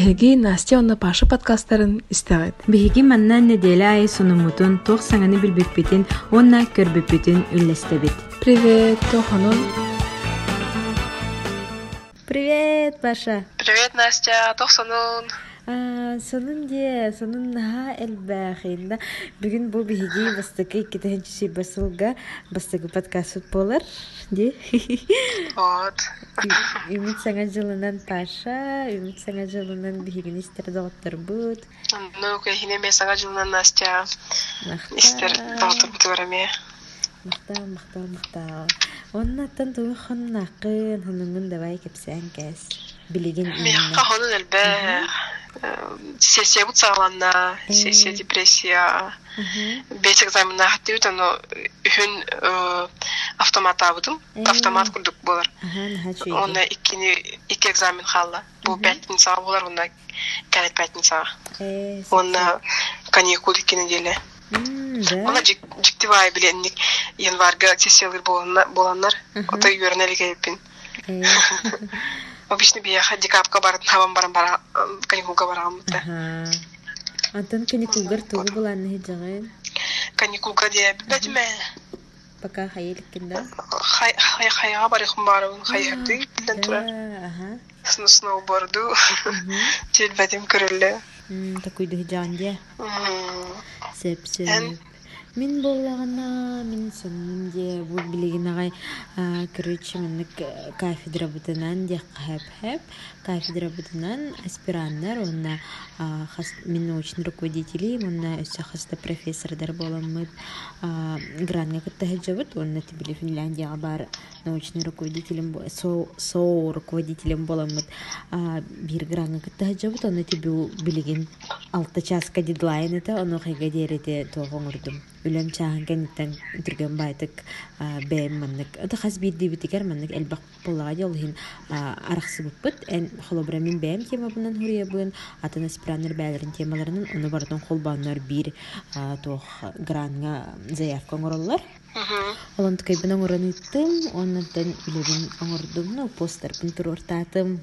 Биһиги Настя онна Паша подкасттарын истәгәт. Биһиги маннан неделай сонумутун тох саңаны билбеппитин, онна көрбеппитин үлләстәбит. Привет, Тоханон. Привет, Паша. Привет, Настя. Тохсанун. Сонун наха элбәхинда. Бүгін бұл биһиги бастыкы иккетенчи басылга бастыкы подкаст болар, ди. Вот. Үмит саңа жылынан Паша, үмит саңа жылынан биһигин истер доктор бут. Ну, кайхине мен саңа жылынан Настя. Истер доктор бутураме. Мактал. Оннаттан тугы хоннакын, хонуңун давай кепсән кәс. Билеген Меха хонун элбә. Сессия бут сагланна, сессия депрессия. Бес экзаменна хаттыбыт, но үһүн автомат абыдым. Автомат курдук болар. Онна iki экзамен халла. Бу пятница болар, онна кәлет пятница. Онна каникул 2 неделя. Ona jiktibay bilenlik yanvarga sessiyalar bolanlar ota yörnelik yapın. Обычно бияха декабрьга барып хавам барам каникулга барам да. Антон каникулгар тугу булан хижагын. Каникулга де бәдме. Пока хайылкында. Хайга барыхым барым хайырды билен тура. Сноуборду. Тел бәдем көрөллө. Такой дыжанде. Сеп. Мин боллагана, мин сонунде бу билеген агай короче меник кафедра бутынан де хап кафедра бутынан аспиранттар онна мин научный руководители онна өсө хаста профессордар боламыт гранга кыттахажабыт онна тибили Финляндияга бар научный руководителем со руководителем боламыт бир гранга кыттахажабыт онна тибу билеген 6 часка дедлайн это оно хайга дерете тогоңурдум үлем чахан кенттен түрген байтык бэм маннык это хас бирди битикер маннык элбак боллага жолхин араксы буппут эн холобра мин бэм тема бунан хурия бун атана спиранер бәлерин темаларынын ону бардын холбаннар бир тох гранга заявка оңороллар Олон ткай бинан ораныттым оннан үлебин оңордум ну постер пинтур ортатым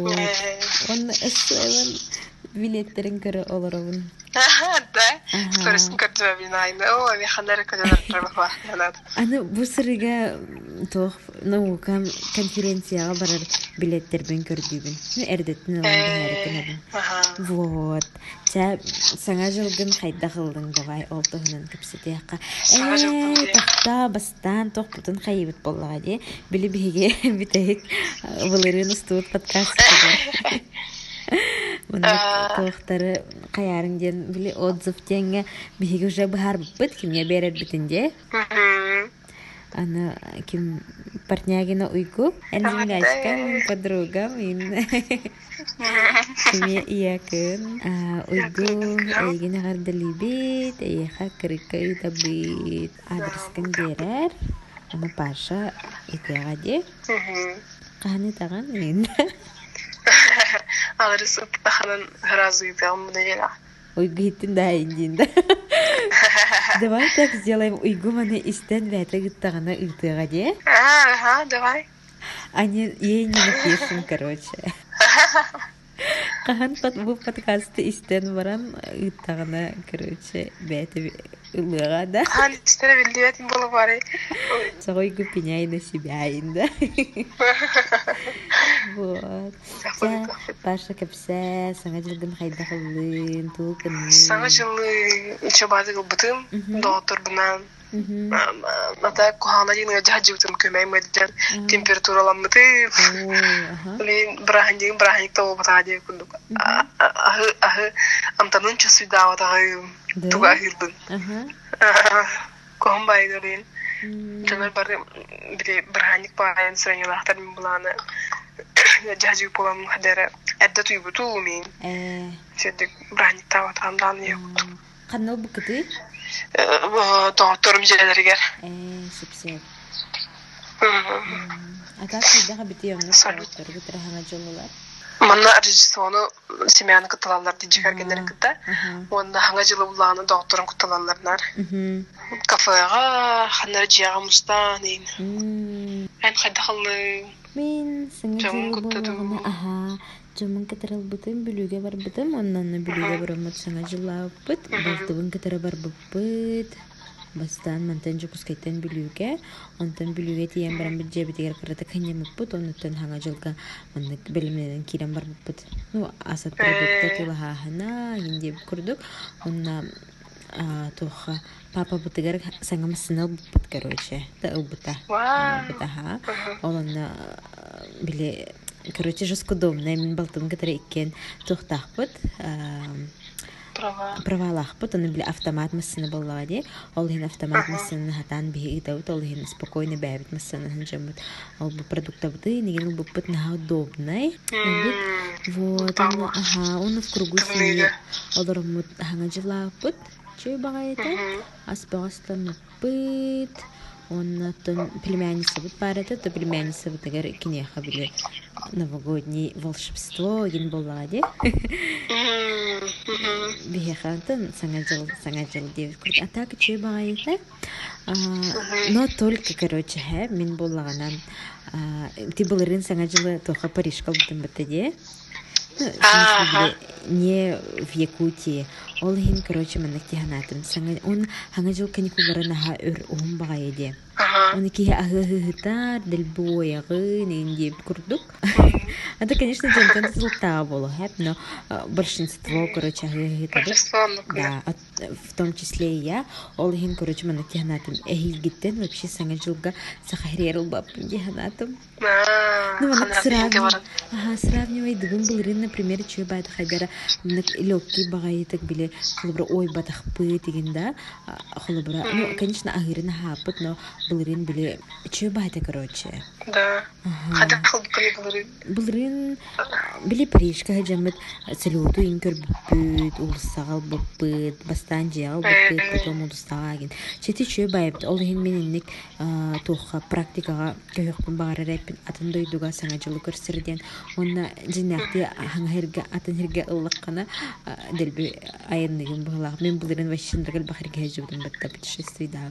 он эсвен билеттерин көрө олоробун Да. Скоростно как-то винайна. О, я ханера когда работала. Аны бу сырыга тох наука конференцияга барар билеттербен көрдүбүн. Эрдеттин алган. Вот. Та саңа жылгын кайда кылдың давай олтугунан кепсетияка. Тахта бастан тох бутун кайбыт боллага ди. Билибиге битек булырын устут подкаст. Мына тохтары каярың ден биле отзыв теңге биге уже бар бит кимге берер битинде. Ана ким партнягина уйку, энзингачка подруга мин. Кимге иякын, уйгу эйгене гардалибит, эйха крикай табит. Адрескин берер. Ана Паша итегаде. Каны таган мин. Адрес таханан разыйдам неделя. Уйгу иттин да индинда. Давай так сделаем уйгу маны истен вәті гыттағына ұйтыға де? Давай. Они ей не напишем, короче. Қахан бұл подкасты истен баран ұйтағына, короче, бәті ұлыға да. Истен білді бәтін болу бары. Сағой гүпіняй на себя инда. Вот. Паша кепсе, саңа жылгын қайда қылын, туылқын. Саңа жылы учебады қылбытым, доғытыр бұнан. Ната кухана жеңі жахаджы бұтым көмәй мәдден температураламытым. Бірахын жеңі бірахынек тауы батаға жеңі күндік. Ахы амтанын часы дауатағы туға ахырдың. Кухан байды олейін. Жанар бары бірахынек бағайын сұрайнылақтар мен бұланы. Жахаджы боламын қадары әдді тұй бұту мен. Сөйдік бірахынек тауатағымдан еқұт. Қаннал бұқыты? Доғыттырым желерігер. Сіпсеп. Ата қайдаға біті өңі доғыттыр бұтыры хана жолылар? Манна режиссону семьяны кыталалар диджигер генерин кыта. Онда ханга жылы буланы доғыттырым кыталаларнар. Кафеға, ханнар жияға мустан дейін. Ән қайда қылы Мен саңа жылы аха жаман катарал бутым бүлүгө бар бутым оннан бүлүгө барамат саңа жылла бут балтыбын катара бар буппыт бастан мантан жукускайтан бүлүгө онтан бүлүгө тиен барам жебитер кырата канемуппут онтан хаңа жылга мандык белимнен кирен бар буппут ну асат продукта тулаха хана инде курдук онна тоха папа бутыгар саңамсынал буппут короче та убута ха олонна биле короче жестко удобно мен балтым катара иккен тохтахпут правалахпут оны биле автомат массыны боллагади ол хин автомат массыны хатан биги итаут ол хин спокойно бэбит массыны ханжамут ол бу продуктабыты неген буппут на удобный вот он в кругу семьи олормут хангажлапут чүй багайта аспагастан пыт он племянница вот парата то племянница вот тагар кинеха биле новогоднее волшебство ген боллади бихахантан сангажал девять крут а так чүй багайта но только короче мен боллаганан ти болырын сангажалы тоха Парижка бутын батаде не в Якутии. Ол хин, короче, манак тиханатым. Он хангажил каникулары наха өр багайде. Он ики агыгытар, дельбоягы, нинди курдук. Это, конечно, джентан золотая было, но большинство, короче, агыгытар. Да, в том числе и я. Ол хин, короче, манак тиханатым. Эхильгиттен вообще сангажилга сахарерил баб тиханатым. Ну, манак сравнивай двум был например, чүй байт хайдара лёгкий багайытык биле холобра ой батах пыт дегенда холобра ну конечно агырын хапыт но былырын биле чүй байт короче да хада былырын биле Парижка хажамыт салюту инкер бүт улсагал буппыт бастан жал буппыт потом улсагаген чети чүй байт ол хин менинник тоха практикага көйөкпүн багара репин атын дойдуга саңажылы көрсөрден онна жинакты хангерга атын херге ыллаккана делби айынныгын булак мен булырын ващындыргыл бахырга жудум батта путешествие да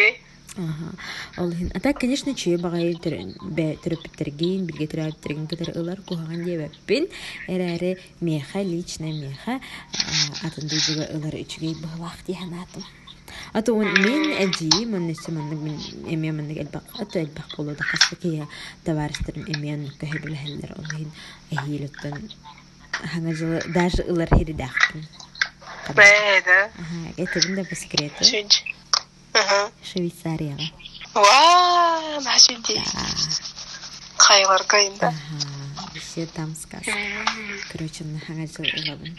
ол хин ата конечно чүй багай терапевттерген билге терапевттерген катар ылар куган дебеппин эраре меха лично меха атын дүйдүгө ылар үчүгөй булак диханатым ато мен эджи мен несеманнык мен эмеманнык элбак болду да кастык товарищтерим эмен көһөбүл хеллер ол хин эхилеттен хангажы даже ылар хиридахпын да это бинде по секрету Швейцарияга ва нашинди кайлар кайында все там сказка короче на хангажы ылабын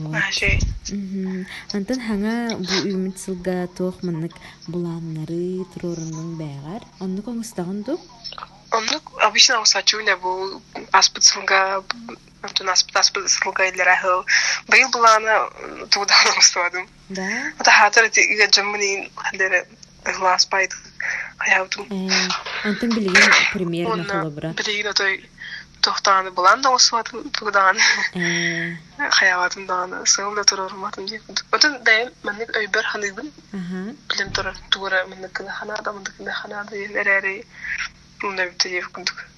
антан ханга бу үмүтсүлга тохманнык буланнары турорунун байгар онну коңустагынду онну обычно усачуна бу аспыцынга антон аспыцылга илерахыл быйыл булана тудан устадым да ата хатыр иге жаммани хадере глаз пайт хаятым антан билген примерно холобра билген той тохтаны буланда устадым тудан хаятым даны сылда турорматым деп отун да мен өйбөр ханыбын билем тура мен ханада мен ханада эрере мунда битеп күндүк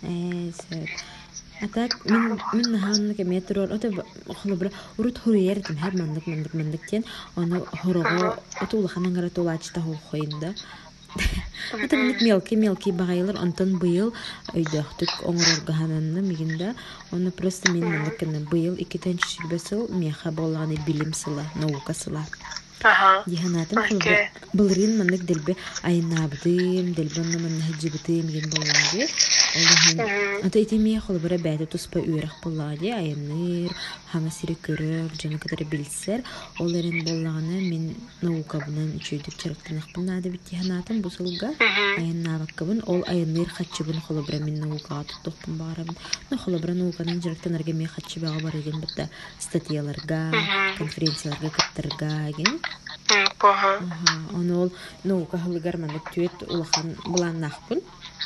атак мен ханнык метрор ата холобра урут хуриертим һәр мандык аны хорого отул ханангара толачта хойында ата мелкий багайлар антон быйыл өйдөктүк оңорорга хананны мигинда аны просто мен мандыкны быйыл 2-нче шилбесел меха болганы билим сыла наука сыла диханатым былырын мандык делбе айнабдым делбенна мен хаҗибтым ген болганы ата итеме холбара бәдә туспа үрәк буллади айныр хаңа сире көрөр жана кадәр билсер оларын болганы мен наука белән үчүдүк чарыктынак булнады бит диханатым бу сылга айнабаккабын ол айныр хаҗибын холбара мен наука токтоп барам но холбара науканың жырыктанарга мен хаҗибага бар ген битә статьяларга конференцияларга каттырга ген он ол наука хылгар мандык түет улахан булан нахпын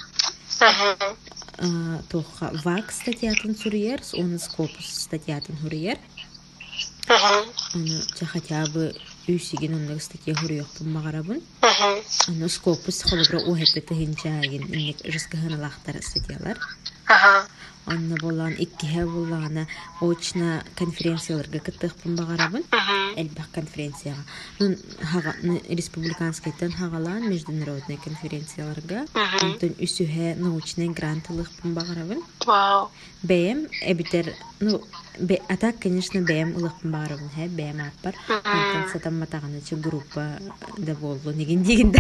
тоха вак статьятын сурьер он скопус статьятын хурьер он хотя бы үсиген онда статья хурьёкпын магарабын он скопус холобра уһепте хинчаген инек жескаһыналахтар статьялар Ага. Онна болан иккиһэ буллаана очна конференцияларга кыттыхпын багарабын. Элбах конференцияга. Ну республиканскайдан хагалаан международный конференцияларга. Онтон үсүһэ научный грантлыхпын багарабын. Вау. БМ эбитер, а так, конечно, БМ улыхпын багарабын, БМ аппар. Онтон сатам матаганачы группа да болду негендигинде.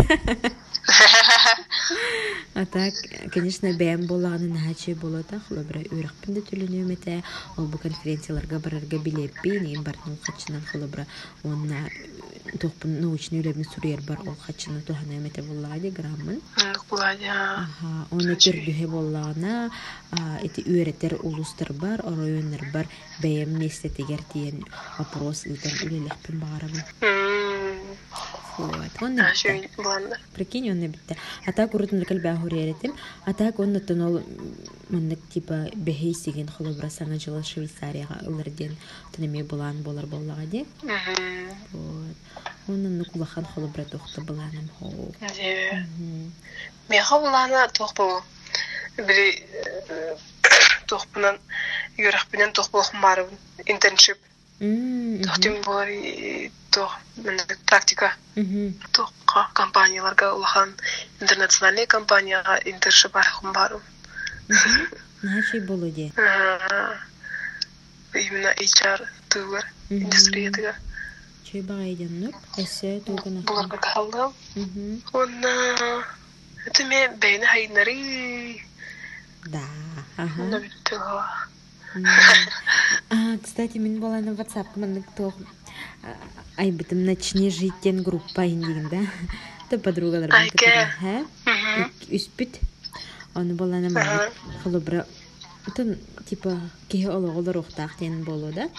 А так, конечно, БМ боланы нахачы болода, хлобра үйрақпын да төлінеу мете, ол бұл конференцияларға барарға билеппи, неген бартын ол қачынан хлобра, онна тоқпын научный үлебін сүрер бар, ол қачынан тоғана мете болады, граммын. Болады, Оны түрдіге болағына, эти үйреттер улустар бар, оройынлар бар, БМ местетегер дейін вопрос ұйтан үлелекпін бағарабын. Прикинь, он набитте. А так урутун лекал бахуриятим. А так он натонол маннык типа бехейсиген холобра саңа жылы Швейцарияга ылырден тунеме булан болар боллагади. Вот. Он нукулахан холобра тохта буланым хо. Меха булана тохпу. Бери тохпунан юрахпинен тохпулах марым интерншип. Тохтим бори тох практика. Тохка компанияларга улахан интернациональный компанияга интерншип архым барым. Начи болуде. Именно HR тугар индустриятыга. Чей багайдан нур? Эссе тугана. Буларга калдым. Онна это ме бейне хайнари. Да. Ага. Кстати, мен была на WhatsApp, мен кто айбытым начни жить тен группа индигин, да? То подругалар мен кытыры, үспит. Оны была на мен холобра. Это типа кеге ологолар охтақ тен болу, да?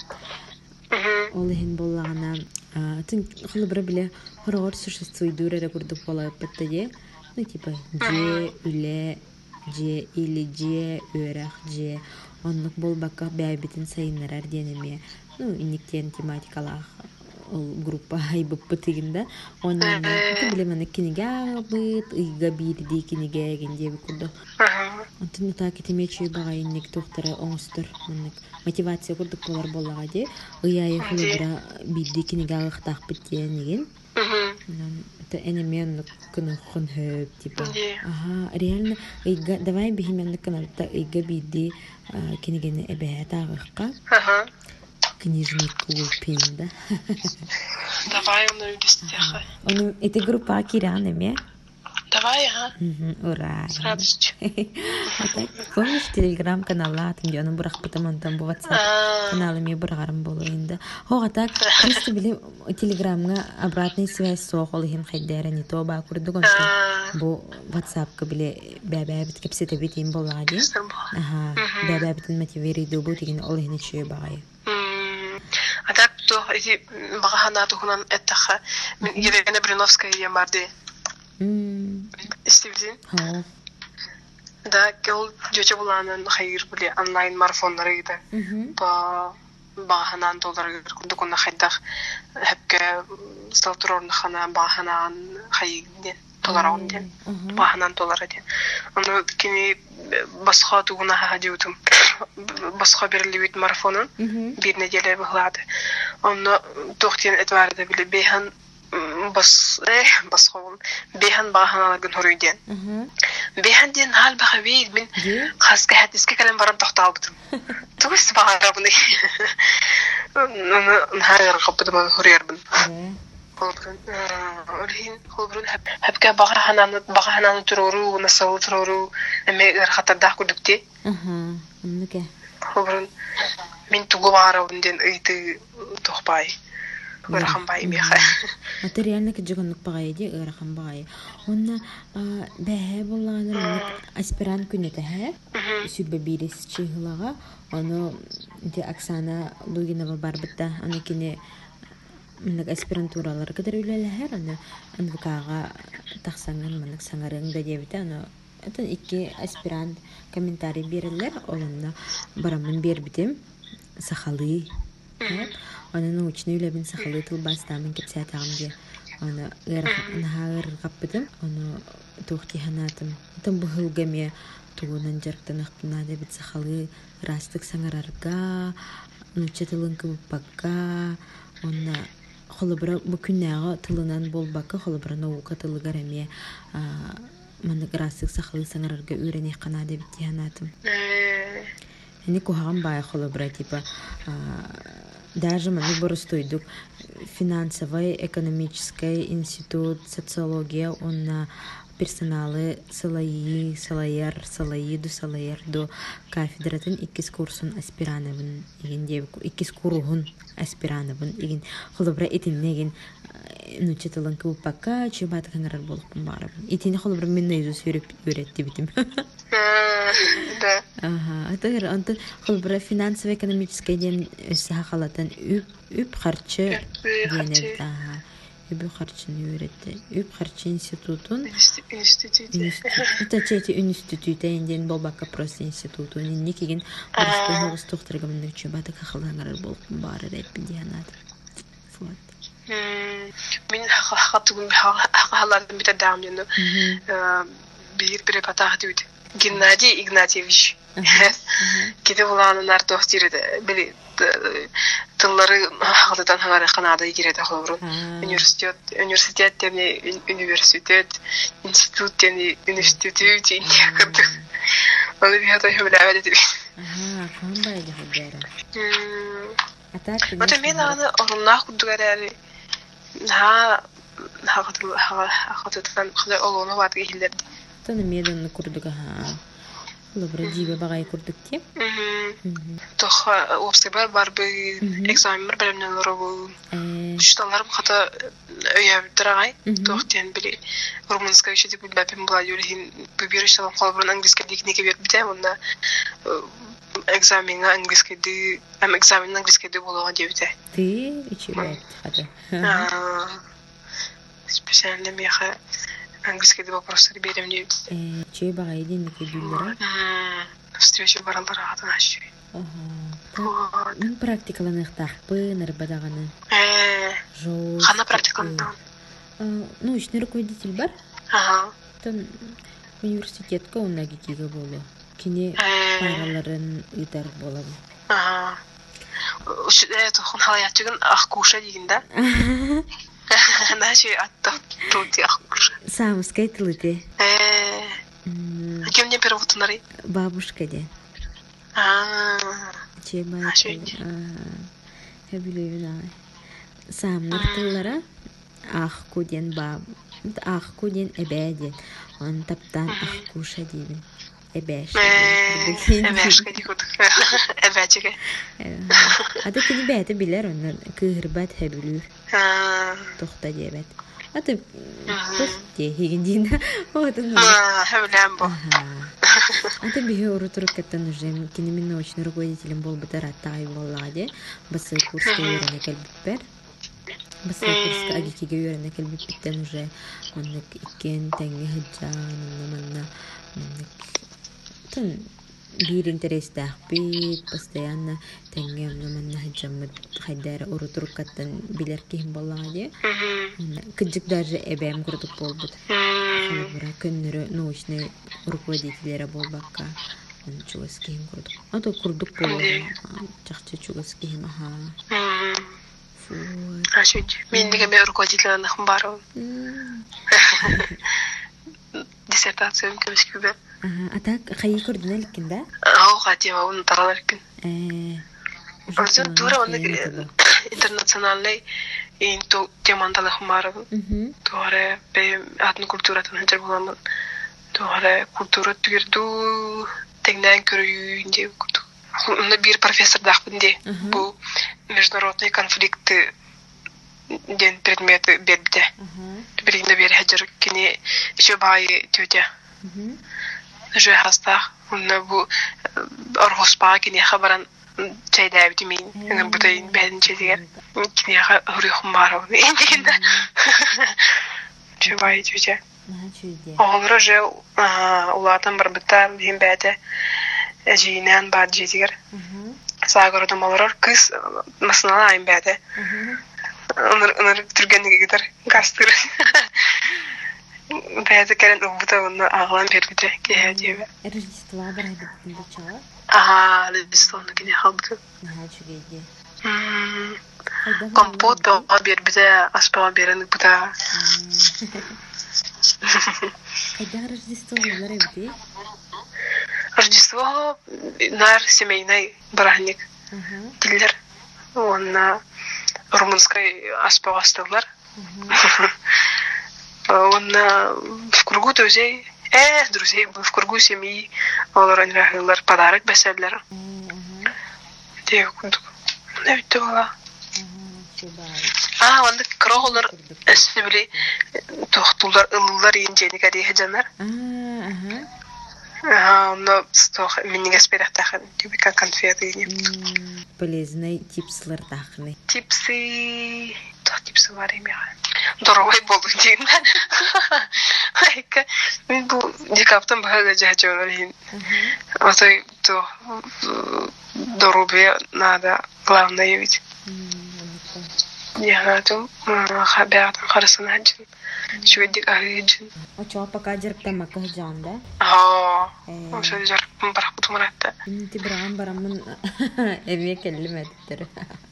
Олыхин боллағана. Тын холобра биле хорогор существуйдур әрі күрдік бола өппетті де. Ну, типа, же, үле, же, или же, өрәқ, же. Оннук болбакка бәйбитин сайыннарар денеме. Ну, инниктен тематикалах ол группа айбып бытыгында. Оннан, это билеманы кинеге абыт, ыйга бирди кинеге гендеби курду. Онтын так этемечүй бага инник тохтары оңустур. Мотивация курдук болар боллага де. Ыйайы хулубра бирди кинеге агыктак биттен деген. Это энемен кына хон хөп типа. Ага, реально ыйга давай бихимен каналта ыйга бирди кинегене эбэта агыкка. Ага. Книжник купин, да? Давай он увидит. Он эти группа киранами. Давай, ага. Ура. С радостью. Помнишь телеграм-канал, там где он бурах, потом он там был каналами бургаром был инда. О, так просто были телеграмга обратная связь с охолхин хайдера не то ба курдугон что бо WhatsApp кабили бәбә бит кепсете бит им болади. Ага. Бәбә бит мотивири дубу тигин олхин чөй багай. А так то эти багана тухунан эттаха мен Елена Бриновская ямарди. Истивдин. Да, кел жоча буланын хайыр биле онлайн марафонлары иде. Ба баганан доллар кундукуна хайдах хепке сталтурорны хана баганан хайден доллар онден. Баганан доллар иде. Аны кини басха тугуна хадиутум. Басха берлибит марафонун бир неделе быглады. Аны тохтен этварды биле бехан басховын бехан баганаларгын хорүйден. Бехан ден хал бахавейд мен хаска хатиске калем барам тохталбытым. Тугус багарабын. Нахагар капытым хорыярбын. Холбрун хапка багананы туруру, насал туруру, эме хатардах күдүкте. Анныке. Холбрун мен тугу багарабын ден ыйты тохпай. Өрхам бай меха. Это реально кджигонук багайди өрхам бай. Онна бәһә булганы аспирант күнәтә һә. Сүбә бирис чыгылага. Аны ди Оксана Лугинова бар битта. Аны кине минек аспирантуралар кадәр үләләһәр. Аны НВКга тахсанган минек саңарың да дебите. Аны это ике аспирант комментарий бирәләр. Олынна барамын бербитем. Сахалы. Она научный үләбен сахалы тылбастамын кепсәтәгәмгә. Ана гыр капты. Ана тохти ханатым. Там быгылгаме тугунан жарктанахпына да бит сахалы растык саңарарга нуча тылын кыбыкка онна холобра бу күннәгә тылынан болбакка холобра наука тылыгар эме маны растык сахалы саңарарга үрәне кана да бит янатым. Они кухаган бай холобра типа даже мы боростойдук финансовый, экономический институт, социология, он персоналы салайер до кафедратын иккис курсын аспирановын иген иккис курухун аспирановын иген холобра итиннеген нучетылын кыбыкка чебат каңарар болуппун бары итини холобра мен наизусть үйрөттү битим. Да. Ага, это анты холбра финансово-экономический ден сахалатан үп харчы денет. Ага. Үп харчын үйрөттү. Үп харчы институтун. Это чети институт энден болбакка просто институту. Никеген борстогус тохтыргамын чөбаты кахалаңар болуп бары деп диянат. Вот. Мен хатугун хахалардын бите дамжыны. Бир препатах дейт. Геннадий Игнатьевич. Кете буланын артох тирде. Били тыллары хатадан хаңара Канада киреде холбрун. Университет демне университет, институт демне институт инде кырдык. Аны бихата хөмләвә дип. Кандай дигәр. Ата мен аны орыннак күдгәрәли. Хатадан кандай олону ват гилдер. Таны меданны курдуга лабра жибе багай курдук те. Тох обсебар барбы экзамен белемнелер бу. Шталарым хата өйәп торгай. Тох тен били румынская еще дип бәпем була юлин бибирештан калбырын английский дикнике бер бите, онда экзаменга английский ди, экзамен английский ди булган дибите. Ти ичибе хата. Специально меха английский вопросы берем не. Чей багай диннике билдера? Встреча баралара атанаш. Мен практикаланықтақпы нарбадағаны. Қана практикаланықтан? Научный руководитель бар? Тон университетка онна кетеге болу. Кене параларын ыдар болам. Тоқын халаятчығын аққуша дегенде? Наши аттақ тұлды аққуша. Самыскай тылыте. Кем не первотынары? Бабушка де. Чебай. Хабилевина. Самнар тыллара аққу ден баб. Аққу ден әбәден. Он таптан аққуша дейбін. Эбэш. Эбэшка дикудук. Эбэчиге. Ада кини бәті билер оннан кыгырбат хэбилүр. Тохта дебет. Ата тохте хиген дейін. Хэбилэм бо. Ата бихе урутуру каттан уже кини мен научный руководителем бол бітар аттағай болладе. Басы курска үйрәне кәлбіппер. Басы курска агикеге үйрәне кәлбіппеттен уже оннак икен тәңе хыджан, оннаманна тон бир интерес тахпит постоянно тәңгем наманна хаҗаммыт хайдара урутуркаттан билер ким боллагы кыҗык даже эбем курдук болбут. Хәбәр көннәре научный руководителләре болбакка чугас ким курдук. Ата курдук болду. Чакча чугас ким Ашыч мен неге руководителләрне хмбару. Диссертациям көскүбе. Атак хай көрдүн элкин да? Хатима уну таралар экен. Өзүн тура уну интернациональный инту темандалы хмару. Туара бе атны культуратын хәҗәр буламын. Туара культура түгерду тегнән көрүндө курдук. Уну бир профессор дахпынде. Бу международный конфликты ден предметы бедде. Биринде бер хәҗәр кини шөбай тетя. Же хаста уну бу оргоспа кини хабаран чайда битимин. Уну бутайын бәдин чедигер. Кини хурихум бару. Индигенде. Шөбай тетя. Олары же улатан бар биттар дин бәде. Әҗинән бар җитигер. Сагырдым алар кыз масынала айн бәде. Оныр түргәнлеге гидер гастыр. Бәді кәрін ұлбыта оны ағылан бербіде кейдебі. Рождество барайды бүтінді чала? Рождествоны кене қалбыды. Чүгейде. Компот бәуға бербіде, аспаға беріні бұта. Қайда Рождество олар әбді? Рождество нар семейный барахник. Дилер. Он румынской аспаға астылар. Он в кругу друзей, в кругу семьи, олар подарок бәсәләр. Дия күндік. Мұна бітті бала. Онда кроллар әсібілі тоқтулар, ылылар енжені кәдейі жанар. Онда менің әспейдақ тақын, тюбика конфеты енем. Полезный типсылар тақыны. Типсы бар емеға. Дорогой болу дейін. Мен бұл декаптан бағаға жағы олайын. Отой дорогой надо главное ведь. Я надо хабиатан қарысын әджін. Шведдік ағайджін. Очуға пока жарықтан мақы жан, да? Оша жарықтан барақ бұтым ұратты. Ти біраған барамын әве кәлім әдіптірі.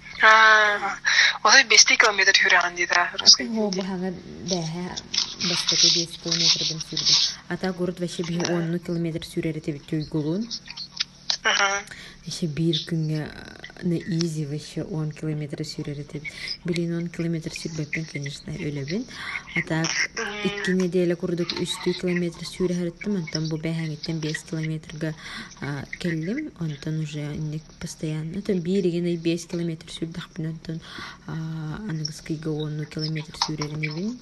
Отой 5 километр хүрәған дейді. О, бұхаңа бәхә бастықы 5 километрден сүрді. Ата город вәше бі 10 километр сүрәрі тәбі түйгілуын. Вәше бір күнге изи вәше 10 километр сүрәрі тәбі. Білін 10 километр сүрбәппен, конечно, өләбін. Ата 2 неделя күрдік 3 километр сүрәріттім. Онтан бұл бәхәңеттен 5 километрға келдім. Онтан уже постоянно. Онтан бірігені 5 километр сүрдіқ бін. Онтан анығызқыға 10 километр сүрәрін ебін.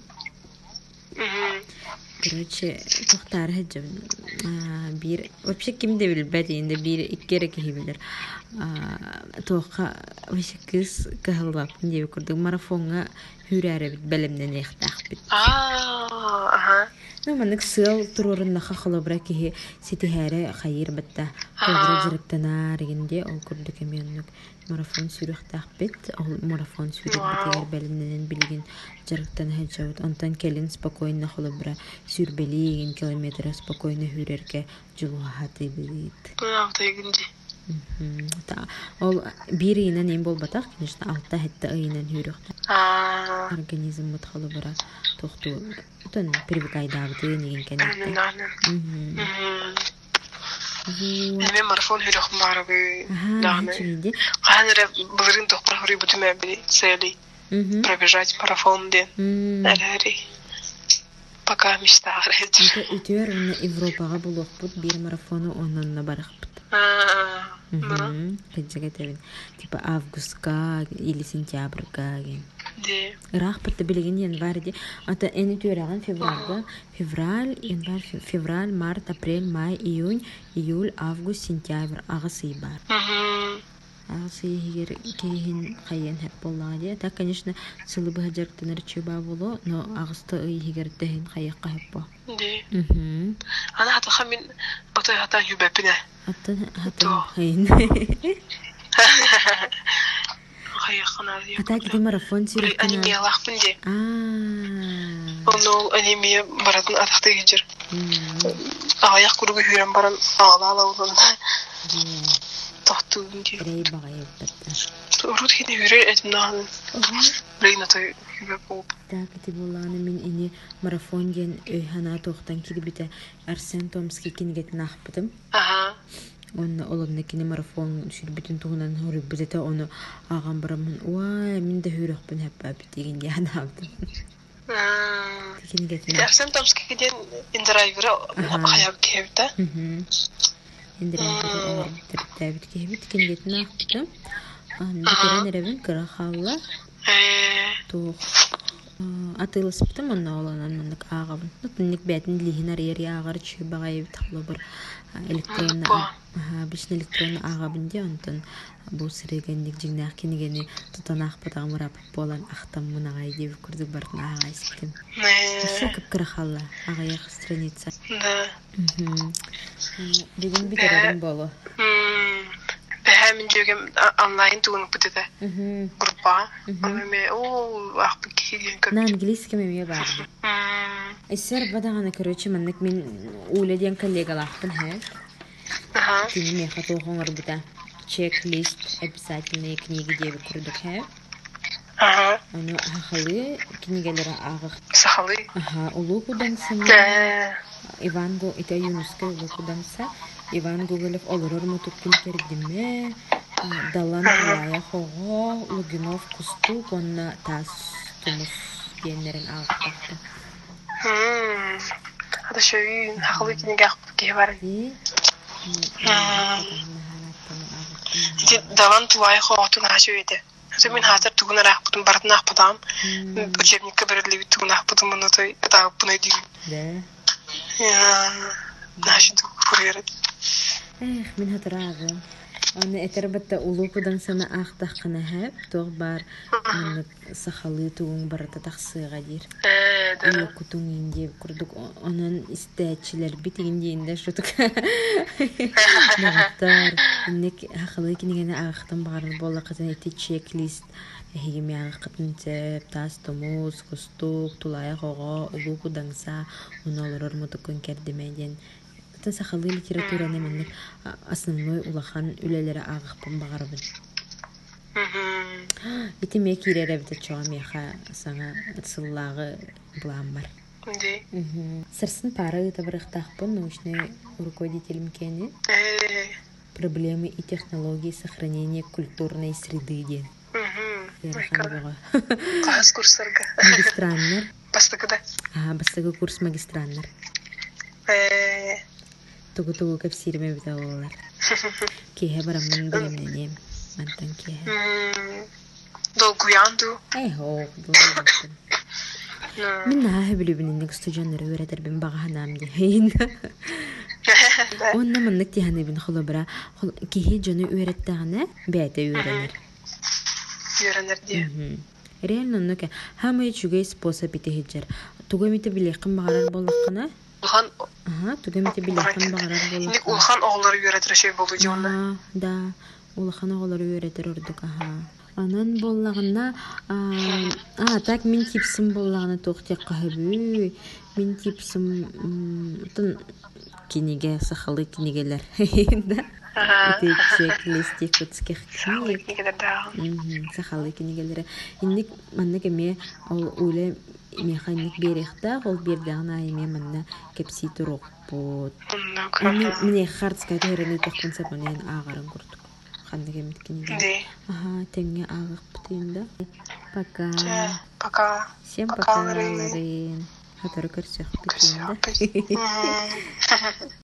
Короче, тоқтар хаджам. Вообще кимде билбәт инде бир иккере кихибилер. Тоққа вообще кыз кахылбаппын деп көрдік. Марафонға хүрәрі бит бәлемнен ехтақ бит. Манық сыл тұрорында қақылы бұра кихи сетихәрі қайыр бітті. Қолдыра жырықтанар егенде ол көрдік еменік марафон сүріқтақ бит. Ол марафон сүрік бітігер бәлемнен білген жырықтан хаджауыд. Онтан келін спокойна қолы бұра сүрбелі еген километр спокойна хүрерге жылуға хаты бит. Ол бір иінен ең бол батақ, конечно, алта хетті иінен хүріқті. Организм мұтқалы бұра тоқту. Тон привыкайдабыты неген кәнетті. Мен марафон хүріқым барығы дағыны. Қаныры бұлырын тоқпар хүрі бұтым әбілі цели. Пробежать марафон ден. Әләрі. Пока мечта ғырайды. Үтер оны Европаға бұлық бұд бір марафоны онынна барық бұд. Кәджіға тәбін. Типа августка или сентябрька. Ирақ бұтты білеген январь де. Ата әні түраған февральға. Февраль, март, апрель, май, июнь, июль, август, сентябрь. Ағысы бар. Ағысы егер кейін қайын әп болаға де. Так, конечно, сылы бұға жарықтанар чөба болу, но ағысты егер дәйін қайыққа әп бол. Ана хатыға мен бұтай хатан юбәпіне. Хатан қайын. Қайыққанар еп. Ата кеде марафон сүректен. Анемия лақпын де. Ол анемия баратын атақты кенжер. Ағаяқ күрігі хүрен баран ағала олында. Тоқтуын де. Рей баға еппетті. Ұрут кені хүрер әдімнағын. Рейн атай юбәп болып. Кете боланы мен ені марафон ден өйхана тоқтан келбіті Арсен Томский кенгетін ақпыдым. Оны олымны кені марафон сүрбітін туғынан хүріп бұзеті оны аған барамын. Уай, мен де хүріқпін әп-әп деген де анабдым. Арсен Томский ден индирайвері қаяп кебіті. Индирайвері орбитір тәбіт кебіт кенгетін ақпыдым. Бүкерен әрәбін кіра қауыла. Тоқ. Атылысыптым онна оланан мындық ағабын. Нұтынник бәтін лихин арьер ағар чүй бағай тақлы бір бішін электронны ағабын де онтын бұл сірегенник жіңнақ кенегені тұтан ақпатағым рапып болан ақтам мұнағай деп күрдік бардың ағай сіптім. Осы көп кірақалла ағаяқ страница. Бүгін бітерерім болу. мен жөгем онлайн тугун бутыда. Группа. Мен ах бикиден көп. На английском мне барды. Эсер бадагана, короче, маннык мен уледен коллегалахтын хэ. Ага. Тини мен хатохоңор бута. Чек-лист обязательные книги девы курдук хэ. Ага. Аны хахалы книгелери агык. Сахалы. Ага, улукудан сына. Иван Го, это юнуска улукуданса. Иван Гоголев олорор мутуккун кердиме. Далан Лая Хого, Лугинов Кусту, конна тас тумус генерин агыктакты. Hadi şöyle haklı ki ne gel var. Davan tuvayi xoğutun haşöydi. Zemin hatır tuğuna rahbudum baratın ahbudam. Uçebnik kabarıdlı bir tuğuna ahbudum bunu da dağıp bunu edeyim. De. Naşidu kuruyarı. Min hatırağım. Onu eterbatta ulukudan sana ağdaqına hep doğbar onu saxalı tuğun barata taqsığa dir. Ulukutun indi kurduk onun isteçiler bitiginde şutuk. Naqtar innek haqlı kinigene ağıqtan bağırın bolla qatan eti checklist hegimi ağıqtın tep tas tomuz kustuk tulaya qoğa ulukudansa onu olurur mutukun kerdimeden Тан сахалы литератураны мен основной улахан үлелері ағықпын бағарбын. Итиме киреребді чоға меха саңа сыллағы бұлам бар. Сырсын пары табырықтақпын научный руководителем кені. Проблемы и технологии сохранения культурной среды ден. Қағыз курсырға. Магистраннар. Бастықыда. Бастығы курс магистраннар. Тугу капсирме бит алалар. Кие барамын билемненем. Мантан кие. Долгуянду. Хо, долгуянду. Мен нахи билебинник студенттер өйрәтер бин баганам дейин. Онна маннык тиханы бин холобра. Кие жаны өйрәттәгәне бәйте өйрәнер. Өйрәнер ди. Реально нөкә һәм ичүгә способ итеһиҗер. Тугымите билеккән багарар буллаккына. Улхан Тугымите билеккән багарар буллаккына. Ник улхан оглары өйрәтер şey булды җонда. Да, улхан оглары өйрәтер урдык Анан боллагына так мин типсим боллагына тохтек кахыбы. Мин типсим кинеге сахалы кинегелер. Да. Это чек-листик кутских книг. Сахалы кинегелер. Инник маннык ме ол уле механик берехта, ол бердагына эме манна кепси турук бут. Мне хардская терени тохтынса манен агарын курдук. Хандыгы миткинеге. Теңге агык бутында. Пока. Пока. Всем пока, Ларин. Хатары көрсөк бутында.